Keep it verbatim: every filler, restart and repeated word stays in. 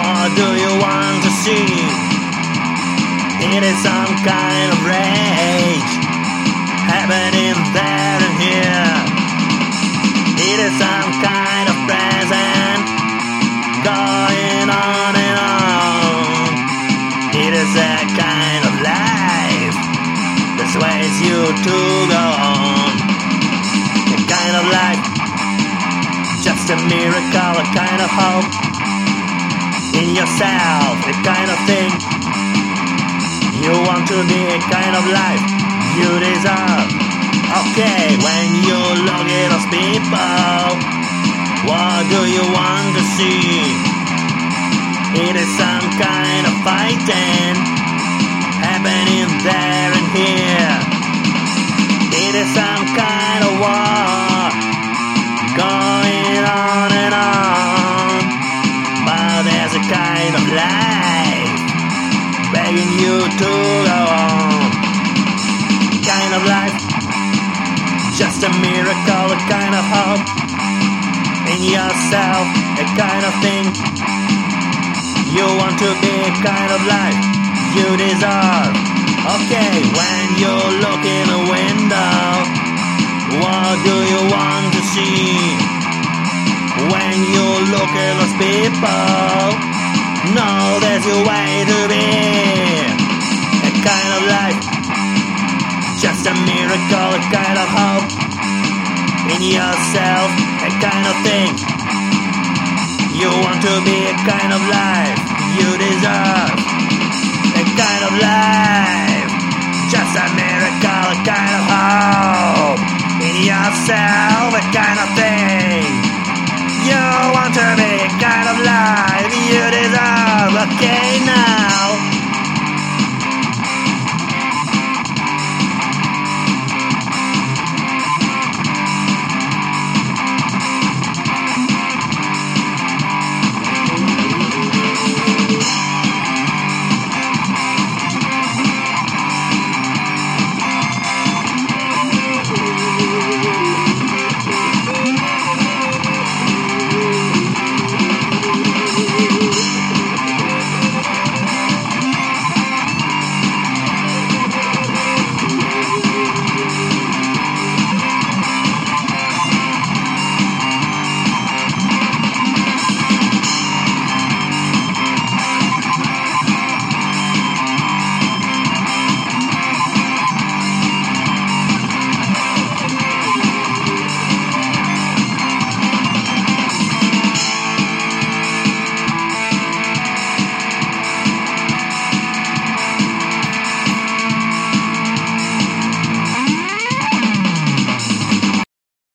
What do you want to see? It is some kind of rage happening there and here. It is some kind of present going on and on. It is a kind of life that sways you to go on. A kind of life, just a miracle, a kind of hope in yourself, a kind of thing. You want to be a kind of life you deserve. Okay, when you look at those people, what do you want to see? It is some kind of fighting happening there and here. It is some kind of war going on and on. But there's a kind of life begging you to go on. Kind of life, just a miracle, a kind of hope in yourself, a kind of thing. You want to be a kind of life you deserve. Okay, when you look in a window, what do you want to see? When you look at those people, no, there's your way to be. A kind of life, just a miracle, a kind of hope in yourself, a kind of thing. You want to be a kind of life you deserve. A kind of life, just a miracle, a kind of hope in yourself.